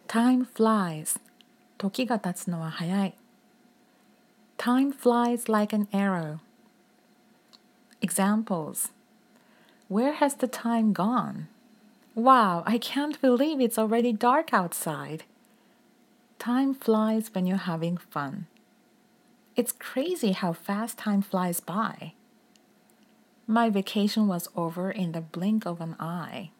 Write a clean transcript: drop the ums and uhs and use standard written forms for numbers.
Time flies. 時が経つのは早い。Time flies like an arrow. Examples. Where has the time gone? Wow, I can't believe it's already dark outside. Time flies when you're having fun. It's crazy how fast time flies by. My vacation was over in the blink of an eye.